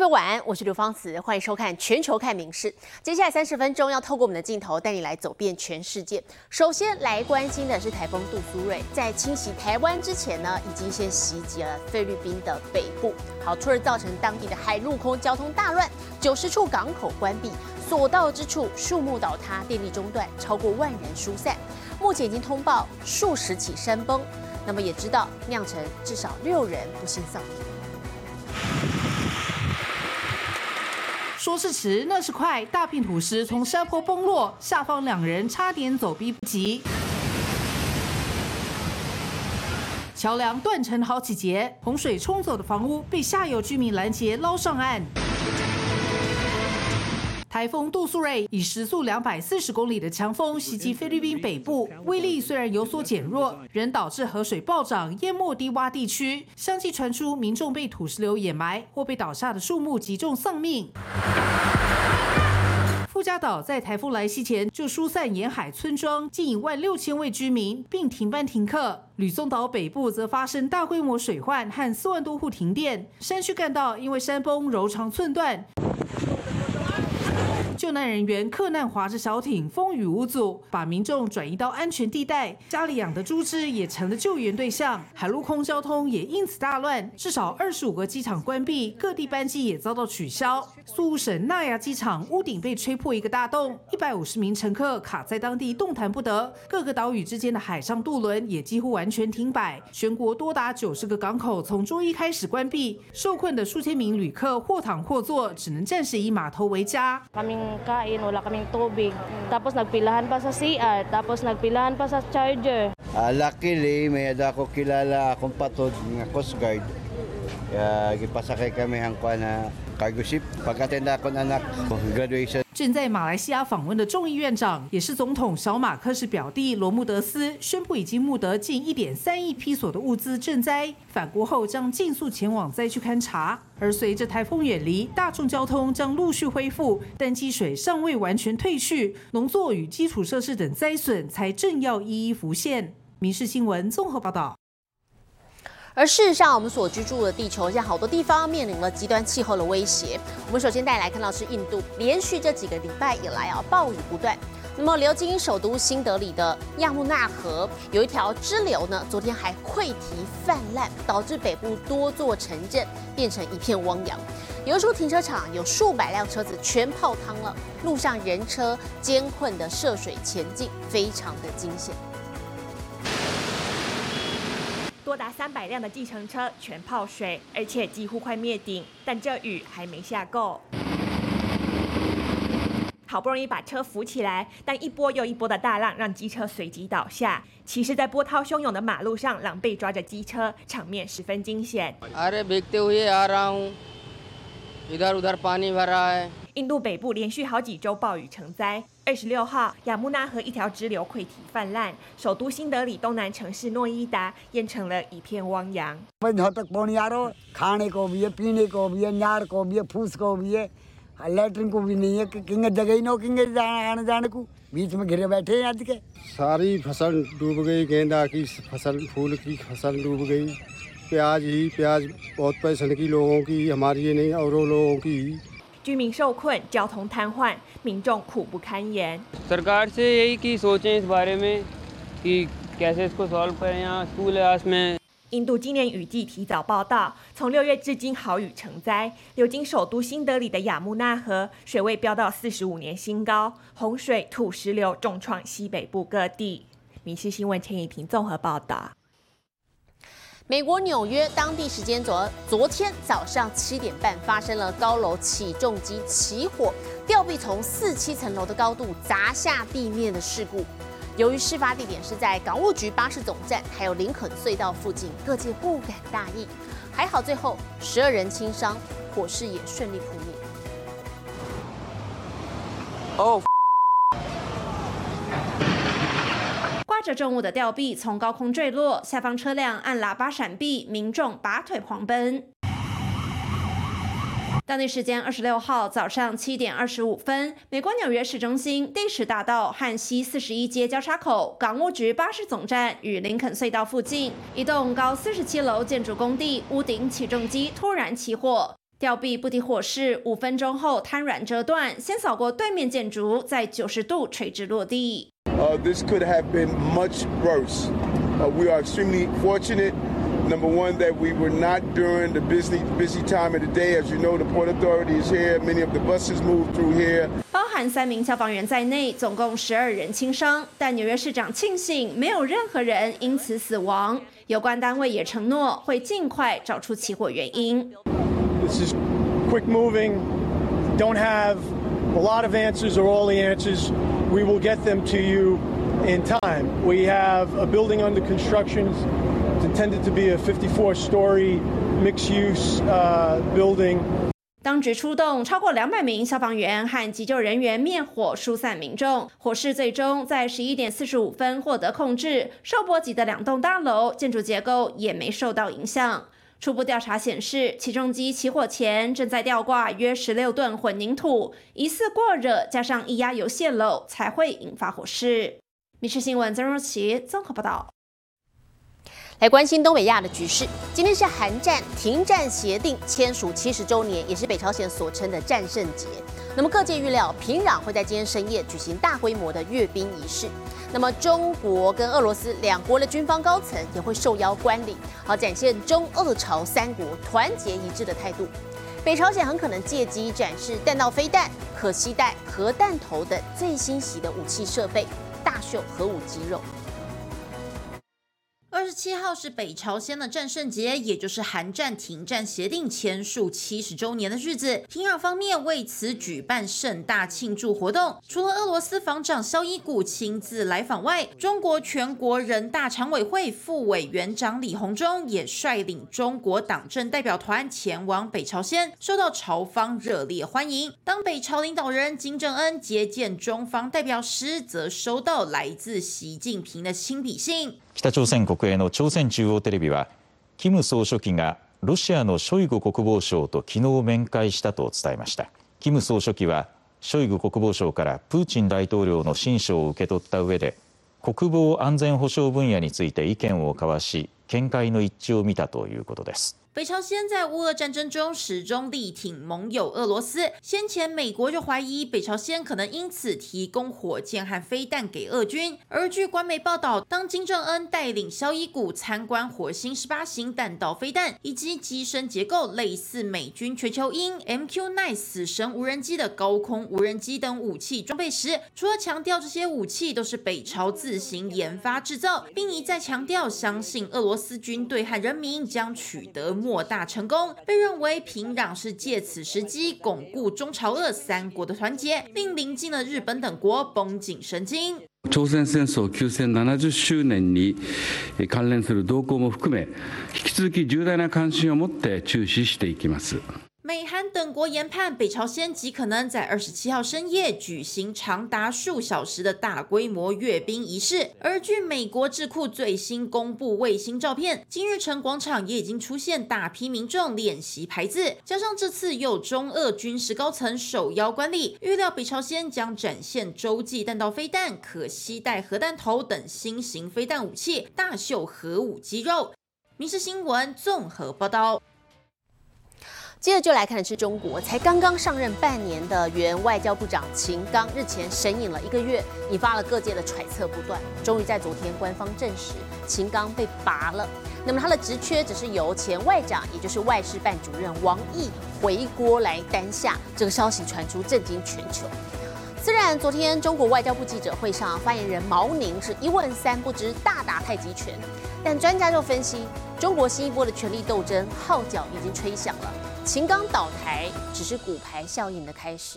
晚安，我是刘芳慈，欢迎收看《全球看名事》。接下来30分钟要透过我们的镜头带你来走遍全世界。首先来关心的是台风杜苏芮，在侵袭台湾之前呢，已经先袭击了菲律宾的北部，好，从而造成当地的海陆空交通大乱，90处港口关闭，所到之处树木倒塌，电力中断，超过万人疏散。目前已经通报数十起山崩，那么也知道酿成至少6人不幸丧命。 说是迟，那是快，大片土石从山坡崩落，下方2人差点走避不及。桥梁断成好几截，洪水冲走的房屋被下游居民拦截捞上岸。台风杜苏芮以时速240公里的强风袭击菲律宾北部，威力虽然有所减弱，仍导致河水暴涨，淹没低洼地区，相继传出民众被土石流掩埋或被倒下的树木击中丧命。富加岛在台风来袭前就疏散沿海村庄近16000位居民，并停班停课。吕宋岛北部则发生大规模水患和4万多户停电，山区干道因为山崩柔肠寸断。救难人员克难划着小艇，风雨无阻，把民众转移到安全地带。家里养的猪只也成了救援对象，海陆空交通也因此大乱，至少25个机场关闭，各地班机也遭到取消。苏武省纳亚机场屋顶被吹破一个大洞，150名乘客卡在当地动弹不得。各个岛屿之间的海上渡轮也几乎完全停摆，全国多达90个港口从周一开始关闭，受困的数千名旅客或躺或坐，只能暂时以码头为家。 kain, wala kaming tubig. Tapos nagpilahan pa sa CR, tapos nagpilahan pa sa charger. Luckily, may ako kilala akong patod ng Coast Guard. Gipasakay kami ang cargo ship. Pag-attend ako ng anak graduation. 正在马来西亚访问的众议院长，也是总统小马克士表弟罗穆德斯宣布，已经募得近1.3亿披索的物资赈灾，返国后将尽速前往灾区勘察。而随着台风远离，大众交通将陆续恢复，但积水尚未完全退去，农作与基础设施等灾损才正要一一浮现。民视新闻综合报道。 而事实上，我们所居住的地球，现在好多地方面临了极端气候的威胁。我们首先带来看到是印度，连续这几个礼拜以来暴雨不断。那么流经首都新德里的亚穆纳河有一条支流呢，昨天还溃堤泛滥，导致北部多座城镇变成一片汪洋。有一处停车场有数百辆车子全泡汤了，路上人车艰困的涉水前进，非常的惊险。 多达300辆的计程车全泡水，而且几乎快灭顶，但这雨还没下够。好不容易把车扶起来，但一波又一波的大浪让机车随即倒下。骑士在波涛汹涌的马路上狼狈抓着机车，场面十分惊险。印度北部连续好几周暴雨成灾。26号，亚穆纳河一条支流溃堤泛滥，首都新德里东南城市诺伊达淹成了一片汪洋。 लैट्रिन को भी नहीं है किंगे जगह ही नो किंगे आने जाने को बीच में घिरे बैठे हैं आज के सारी फसल डूब गई गेंदा की फसल फूल की फसल डूब गई प्याज बहुत पैसे की लोगों की हमारी ये नहीं औरों लोगों की 居民受困，交通瘫痪，民众苦不堪言。 सरकार से यही कि सोचें इस बारे में कि कैसे इसको सॉल्व करें यहाँ स्कूल है में 印度今年雨季提早报道，从6月至今豪雨成灾，流经首都新德里的亚穆纳河水位飙到45年新高，洪水、土石流重创西北部各地。民视新闻陈以婷综合报道。 美国纽约当地时间昨天早上7点半发生了高楼起重机起火，吊臂从4、7层楼的高度砸下地面的事故。由于事发地点是在港务局巴士总站，还有林肯隧道附近，各界不敢大意。还好最后12人轻伤，火势也顺利扑灭。 挂着重物的吊臂从高空坠落，下方车辆按喇叭闪避，民众拔腿狂奔。当地时间26号早上7点25分，美国纽约市中心第10大道和西41街交叉口港务局巴士总站与林肯隧道附近，一栋高47楼建筑工地屋顶起重机突然起火。 吊臂不敌火势，5分钟后瘫软折断，先扫过对面建筑，在90度垂直落地。 This could have been much worse. We are extremely fortunate. Number one, that we were not during the busy time of the day. As you know, the Port Authority is here. Many of the buses move through here. 包含3名消防员在内，总共12人轻伤。但纽约市长庆幸没有任何人因此死亡。有关单位也承诺会尽快找出起火原因。 This is quick moving. Don't have a lot of answers or all the answers. We will get them to you in time. We have a building under construction. It's intended to be a 54-story mixed-use building. 当局出动超过200名消防员和急救人员灭火疏散民众，火势最终在11点45分获得控制。受波及的2栋大楼建筑结构也没受到影响。初步调查显示，起重机起火前正在吊挂约16吨混凝土，疑似过热加上液压油泄漏才会引发火势。民视新闻曾若琪综合报道。 来关心东北亚的局势。今天是韩战停战协定签署70周年，也是北朝鲜所称的战胜节。那么各界预料，平壤会在今天深夜举行大规模的阅兵仪式。那么中国跟俄罗斯两国的军方高层也会受邀观礼，好展现中俄朝3国团结一致的态度。北朝鲜很可能借机展示弹道飞弹、可携带核弹头等最新型的武器设备，大秀核武肌肉。 27号是北朝鲜的战胜节，也就是韩战停战协定签署70周年的日子。平壤方面为此举办盛大庆祝活动，除了俄罗斯防长肖伊古亲自来访外，中国全国人大常委会副委员长李鸿忠也率领中国党政代表团前往北朝鲜，受到朝方热烈欢迎。当北朝领导人金正恩接见中方代表时，则收到来自习近平的亲笔信。 北朝鮮国営の朝鮮中央テレビは、キム総書記がロシアのショイグ国防相と昨日面会したと伝えました。キム総書記はショイグ国防相からプーチン大統領の親書を受け取った上で、国防安全保障分野について意見を交わし、見解の一致を見たということです。 北朝鲜在乌俄战争中始终力挺盟友俄罗斯，先前美国就怀疑北朝鲜可能因此提供火箭和飞弹给俄军。而据官媒报道，当金正恩带领肖伊古参观火星18型弹道飞弹以及机身结构类似美军全球鹰 MQ-9 死神无人机的高空无人机等武器装备时，除了强调这些武器都是北朝自行研发制造，并一再强调相信俄罗斯军队和人民将取得莫大成功，被认为平壤是借此時機鞏固中朝俄3國的團結，令鄰近的日本等國繃緊神經。 朝鮮戦争休戦70周年に関連する動向も含め、引き続き重大な関心を持って注視していきます。 美韩等国研判，北朝鲜极可能在27号深夜举行长达数小时的大规模阅兵仪式。而据美国智库最新公布卫星照片，金日成广场也已经出现大批民众练习排字，加上这次有中俄军事高层受邀观礼，预料北朝鲜将展现洲际弹道飞弹、可携带核弹头等新型飞弹武器，大秀核武肌肉。民视新闻综合报道。 接着就来看的是中国，才刚刚上任半年的原外交部长秦刚，日前神隐了1个月，引发了各界的揣测不断。终于在昨天官方证实，秦刚被拔了。那么他的职缺只是由前外长，也就是外事办主任王毅回国来担下。这个消息传出，震惊全球。虽然昨天中国外交部记者会上，发言人毛宁是一问3不知，大打太极拳，但专家就分析，中国新一波的权力斗争号角已经吹响了。秦刚倒台只是骨牌效应的开始。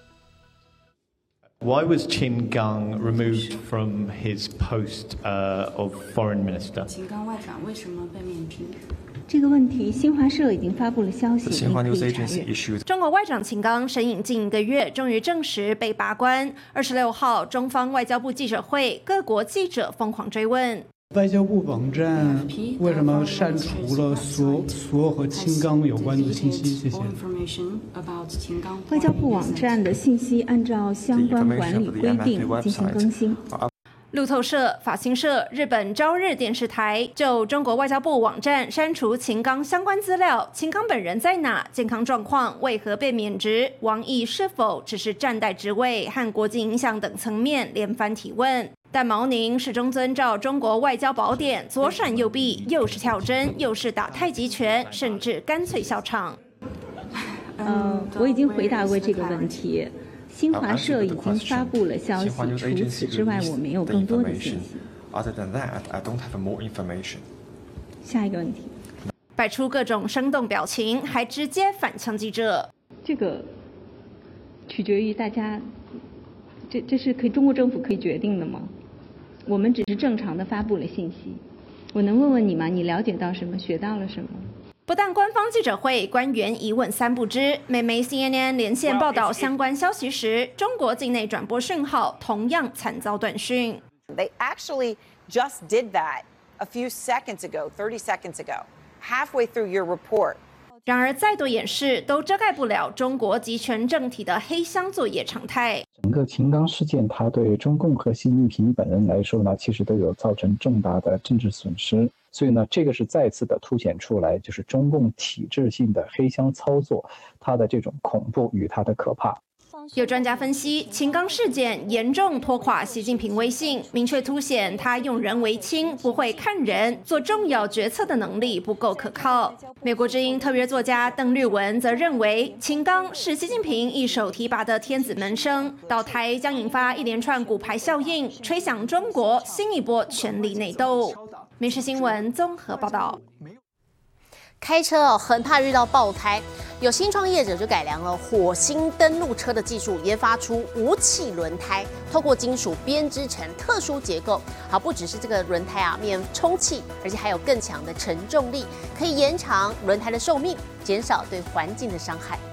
Why was Qin Gang removed from his post of foreign minister? 秦刚外长为什么被免职？这个问题，新华社已经发布了消息， 新华 News Agency 中国外长秦刚神隐近1个月，终于证实被拔关。26号，中方外交部记者会，各国记者疯狂追问。 外交部网站为什么删除了所有和秦刚有关的信息？谢谢。 外交部网站的信息按照相关管理规定进行更新。 路透社、法新社、日本朝日电视台就中国外交部网站删除秦刚相关资料，秦刚本人在哪？健康状况为何被免职？王毅是否只是暂代职位和国际影响等层面连番提问。但毛宁始终遵照中国外交宝典，左闪右避，又是跳针，又是打太极拳，甚至干脆笑场。 我已经回答过这个问题。新华社已经发布了消息，除此之外，我没有更多的信息。下一个问题， 摆出各种生动表情，还直接反呛记者。 这个取决于大家，这是中国政府可以决定的吗？我们只是正常的发布了信息。我能问问你吗？你了解到什么？学到了什么？ 不但官方记者会官员一问三不知，美媒 CNN 连线报道相关消息时，中国境内转播讯号同样惨遭断讯。 They actually just did that a few seconds ago, 30 seconds ago, halfway through your report. 然而，再多掩饰都遮盖不了中国集权政体的黑箱作业常态。 整个秦刚事件，它对中共和习近平本人来说呢，其实都有造成重大的政治损失。所以呢，这个是再次的凸显出来，就是中共体制性的黑箱操作，它的这种恐怖与它的可怕。 有专家分析，秦刚事件严重拖垮习近平威信，明确凸显他用人为亲、不会看人、做重要决策的能力不够可靠。美国之音特约作家邓律文则认为，秦刚是习近平一手提拔的天子门生，倒台将引发一连串骨牌效应，吹响中国新一波权力内斗。民视新闻综合报道。 开车很怕遇到爆胎，有新创业者就改良了火星登陆车的技术，研发出无气轮胎，透过金属编织成特殊结构。好，不只是这个轮胎啊，免充气，而且还有更强的承重力，可以延长轮胎的寿命，减少对环境的伤害。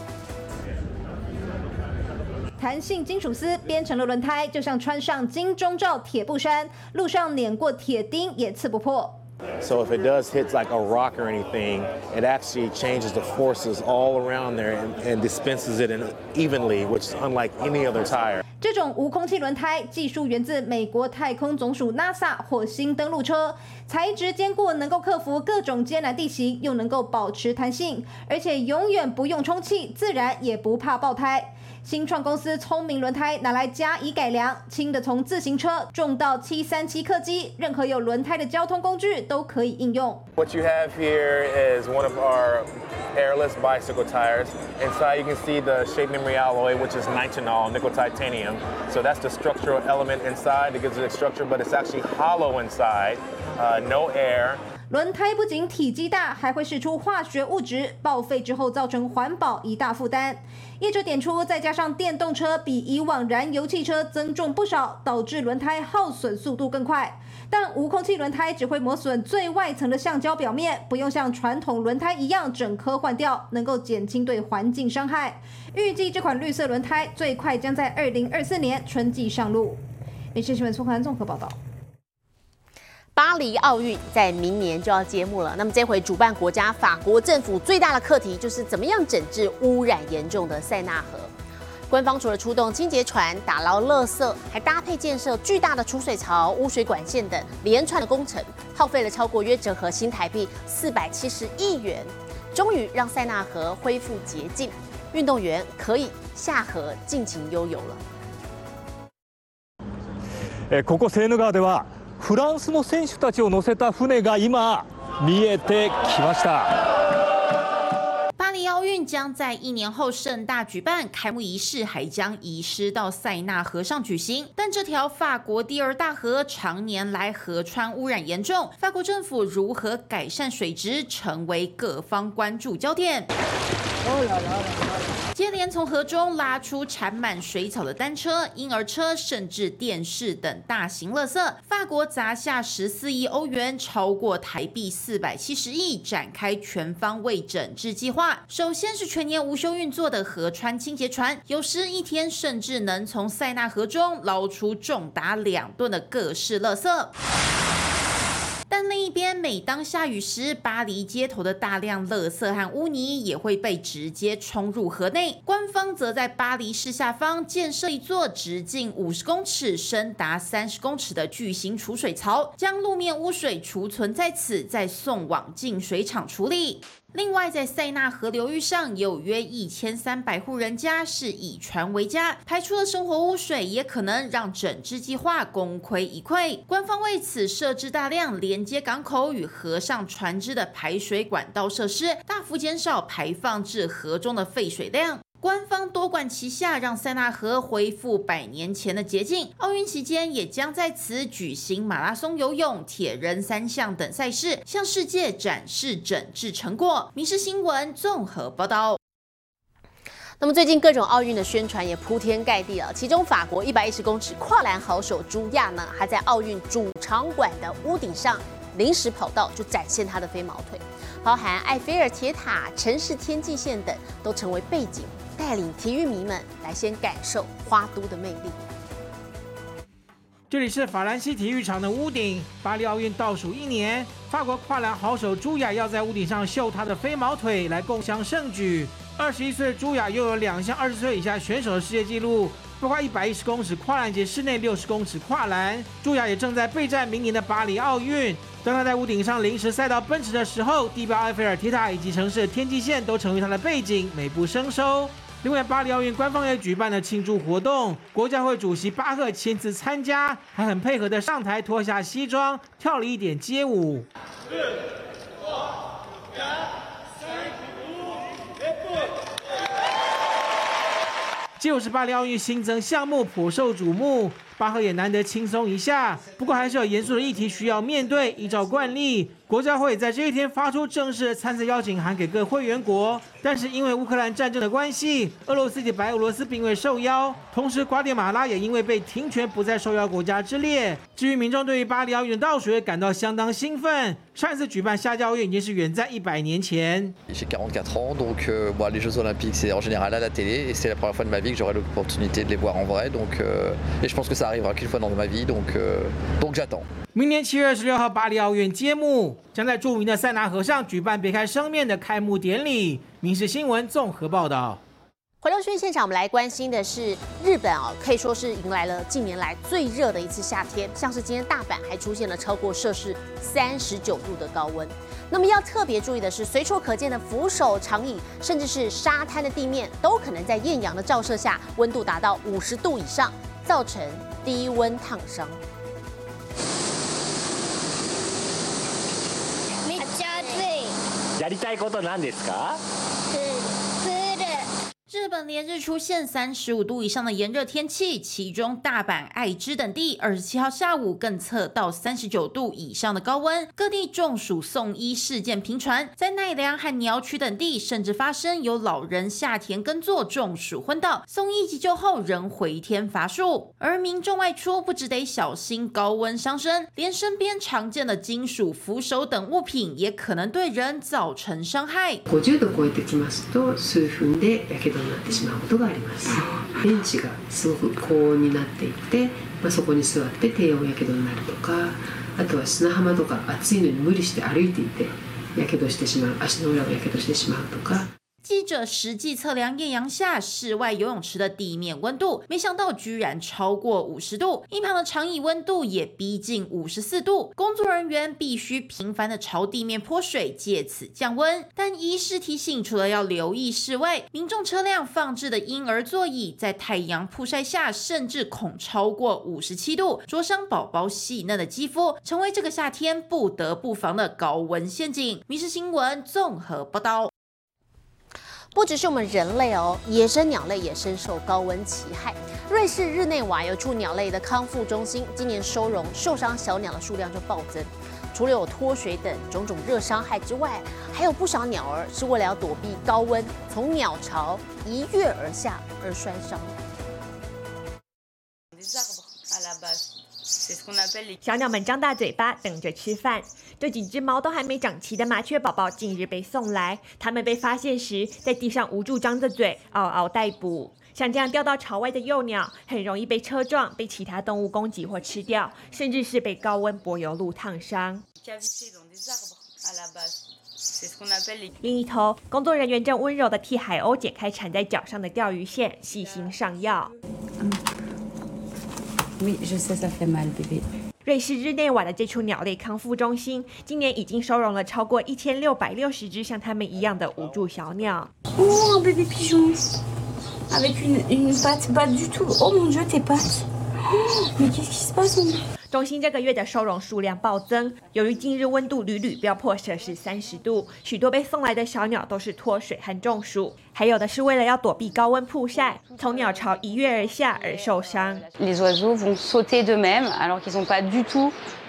弹性金属丝编成了轮胎，就像穿上金钟罩铁布衫，路上碾过铁钉也刺不破。 So if it does hit like a rock or anything, it actually changes the forces all around there and dispenses it evenly, which is unlike any other tire. 这种无空气轮胎技术源自美国太空总署 NASA 火星登陆车，材质坚固，能够克服各种艰难地形，又能够保持弹性，而且永远不用充气，自然也不怕爆胎。新创公司聪明轮胎拿来加以改良，轻的从自行车，重到737客机，任何有轮胎的交通工具都可以应用。 What you have here is one of our airless bicycle tires. Inside you can see the shape memory alloy, which is nitinol, nickel titanium. So that's the structural element inside that gives it a structure, but it's actually hollow inside, no air. 轮胎不仅体积大，还会释出化学物质，报废之后造成环保一大负担。业者点出，再加上电动车比以往燃油汽车增重不少，导致轮胎耗损速度更快。但无空气轮胎只会磨损最外层的橡胶表面，不用像传统轮胎一样整颗换掉，能够减轻对环境伤害。预计这款绿色轮胎最快将在2024年春季上路。民视新闻苏涵综合报道。 巴黎奥运在明年就要揭幕了，那么这回主办国家法国政府最大的课题就是怎么样整治污染严重的塞纳河。官方除了出动清洁船打捞垃圾，还搭配建设巨大的储水槽、污水管线等连串的工程，耗费了超过约折合新台币470亿元，终于让塞纳河恢复洁净，运动员可以下河尽情悠游了。ここセーヌ川ではフランスの選手たちを乗せた船が今見えてきました。 巴黎奥运将在1年后盛大举办，开幕仪式还将移师到塞纳河上举行。但这条法国第2大河常年来河川污染严重，法国政府如何改善水质，成为各方关注焦点。接连从河中拉出缠满水草的单车、婴儿车，甚至电视等大型垃圾，法国砸下14亿欧元，超过台币470亿，展开全方位整治计划。首先是全年无休运作的河川清洁船，有时一天甚至能从塞纳河中捞出重达2吨的各式垃圾。但但另一边，每当下雨时，巴黎街头的大量垃圾和污泥也会被直接冲入河内。官方则在巴黎市下方建设一座直径50公尺、深达30公尺的巨型储水槽，将路面污水储存在此，再送往净水厂处理。另外，在塞纳河流域上，有约1300户人家是以船为家，排出的生活污水也可能让整支计划功亏一篑。官方为此设置大量连接港口与河上船只的排水管道设施，大幅减少排放至河中的废水量。官方多管齐下，让塞纳河恢复100年前的洁净。奥运期间也将在此举行马拉松游泳、铁人3项等赛事，向世界展示整治成果。民视新闻综合报道。 那么最近各种奥运的宣传也铺天盖地了，其中法国110公尺跨栏好手朱亚呢，还在奥运主场馆的屋顶上临时跑道就展现他的飞毛腿，包含埃菲尔铁塔、城市天际线等都成为背景，带领体育迷们来先感受花都的魅力。 这里是法兰西体育场的屋顶，巴黎奥运倒数1年，法国跨栏好手朱亚要在屋顶上秀她的飞毛腿来共襄盛举。21岁的朱亚拥有2项20岁以下选手的世界纪录，包括110公尺跨栏及室内60公尺跨栏。朱亚也正在备战明年的巴黎奥运。当他在屋顶上临时赛道奔驰的时候，地标埃菲尔铁塔以及城市的天际线都成为他的背景，美不胜收。另外，巴黎奥运官方也举办了庆祝活动，国家会主席巴赫亲自参加，还很配合的上台脱下西装，跳了一点街舞。街舞是巴黎奥运新增项目，颇受瞩目。巴赫也难得轻松一下，不过还是有严肃的议题需要面对。依照惯例，国家会在这一天发出正式的参赛邀请函给各会员国，但是因为乌克兰战争的关系，俄罗斯及白俄罗斯并未受邀，同时瓜地马拉也因为被停权不在受邀国家之列。至于民众对于巴黎奥运的倒数也感到相当兴奋，上一次举办夏季奥运已经是远在100年前。 J'ai 44 ans, donc les Jeux Olympiques c'est en général à la télé et c'est la première fois de ma vie que j'aurai l'opportunité de les voir en vrai, donc et je pense que ça arrivera qu'une fois dans ma vie, donc j'attends. 明年7月26号巴黎奥运揭幕，将在著名的塞纳河上举办别开生面的开幕典礼。民视新闻综合报道。 回到讯息现场，我们来关心的是日本可以说是迎来了近年来最热的一次夏天，像是今天大阪还出现了超过摄氏39度的高温。那么要特别注意的是，随处可见的扶手、长椅，甚至是沙滩的地面，都可能在艳阳的照射下，温度达到50度以上，造成低温烫伤。 めっちゃ暑い。やりたいことなんですか？ 日本连日出现35度以上的炎热天气，其中大阪、爱知等地27号下午更测到39度以上的高温，各地中暑送医事件频传，在奈良和鸟取等地甚至发生有老人下田耕作中暑昏倒，送医急救后仍回天乏术。而民众外出不只得小心高温伤身，连身边常见的金属扶手等物品也可能对人造成伤害。 50度超えてきますと数分でやけどになってしまうことがあります。ベンチがすごく高温になっていって、そこに座って低温やけどになるとか、あとは砂浜とか暑いのに無理して歩いていてやけどしてしまう、足の裏がやけどしてしまうとか。 记者实际测量艳阳下室外游泳池的地面温度，没想到居然超过50度，一旁的长椅温度也逼近54度。工作人员必须频繁的朝地面泼水，借此降温。但医师提醒，除了要留意室外，民众车辆放置的婴儿座椅在太阳曝晒下，甚至恐超过57度，灼伤宝宝细嫩的肌肤，成为这个夏天不得不防的高温陷阱。民视新闻综合报道。 不只是我们人类野生鸟类也深受高温其害。瑞士日内瓦有处鸟类的康复中心，今年收容受伤小鸟的数量就暴增。除了有脱水等种种热伤害之外，还有不少鸟儿是为了要躲避高温，从鸟巢一跃而下而摔伤。 小鸟们张大嘴巴等着吃饭。这几只毛都还没长齐的麻雀宝宝近日被送来，它们被发现时在地上无助张着嘴，嗷嗷待哺。像这样掉到巢外的幼鸟，很容易被车撞、被其他动物攻击或吃掉，甚至是被高温柏油路烫伤。 另一头，工作人员正温柔地替海鸥解开缠在脚上的钓鱼线，细心上药。瑞士日内瓦的这处鸟类康复中心，今年已经收容了超过1660只像它们一样的无助小鸟。 Oh, un bébé pigeon avec une patte pas du tout. Oh mon Dieu, tes pattes. Mais qu'est-ce qui se passe? 中心这个月的收容数量暴增，由于近日温度屡屡飙破摄氏30度，许多被送来的小鸟都是脱水和中暑，还有的是为了要躲避高温曝晒，从鸟巢一跃而下而受伤。 Les oiseaux vont sauter d'eux-mêmes alors qu'ils n'ont pas du tout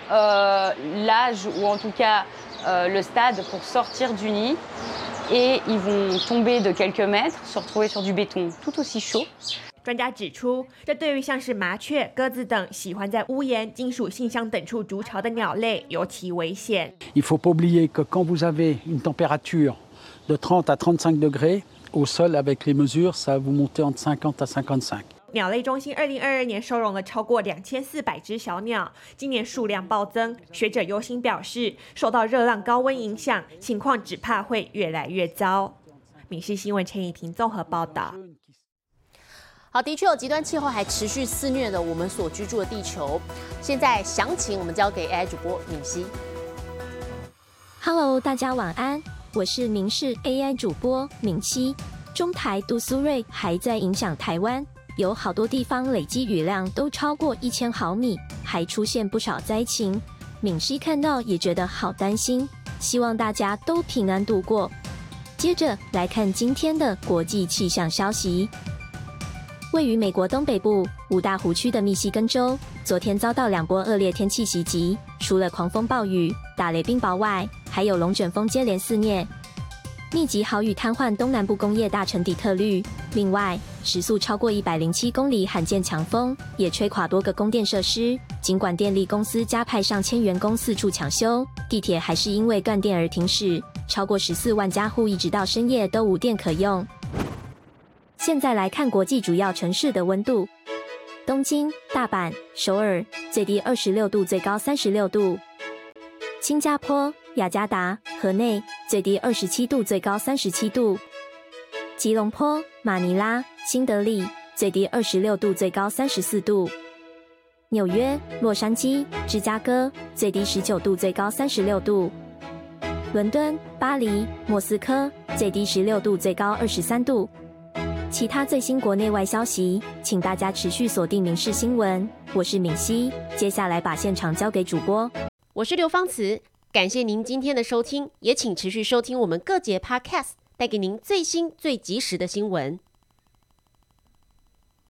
l'âge ou en tout cas le stade pour sortir du nid et ils vont tomber de quelques mètres, se retrouver sur du béton tout aussi chaud. 专家指出，这对于像是麻雀、鸽子等喜欢在屋檐、金属信箱等处筑巢的鸟类尤其危险。 Il faut pas oublier que quand vous avez une température de 30 à 35 degrés au sol avec les mesures, ça va vous monter entre 50 à 55. 鸟类中心2022年收容了超过2400只小鸟，今年数量暴增。学者忧心表示，受到热浪高温影响，情况只怕会越来越糟。民视新闻陈以婷综合报道。 好，的确有极端气候还持续肆虐的我们所居住的地球。现在详情我们交给 AI 主播敏熙。 Hello， 大家晚安，我是民视 AI 主播敏熙。中台杜苏芮还在影响台湾，有好多地方累积雨量都超过1000毫米，还出现不少灾情。敏熙看到也觉得好担心，希望大家都平安度过。接着来看今天的国际气象消息。位于美国东北部五大湖区的密西根州，昨天遭到2波恶劣天气袭击，除了狂风暴雨、打雷冰雹外，还有龙卷风接连肆虐，密集豪雨瘫痪东南部工业大城底特律。另外，时速超过107公里罕见强风也吹垮多个供电设施。尽管电力公司加派上千员工四处抢修，地铁还是因为断电而停驶，超过14万家户一直到深夜都无电可用。现在来看国际主要城市的温度：东京、大阪、首尔最低26度，最高36度；新加坡、雅加达、河内最低27度，最高37度；吉隆坡、马尼拉、新德里最低26度，最高34度；纽约、洛杉矶、芝加哥最低19度，最高36度；伦敦、巴黎、莫斯科最低16度，最高23度。其他最新国内外消息，请大家持续锁定民视新闻。我是敏熙，接下来把现场交给主播。 我是刘芳慈，感谢您今天的收听，也请持续收听我们各节 Podcast， 带给您最新最及时的新闻。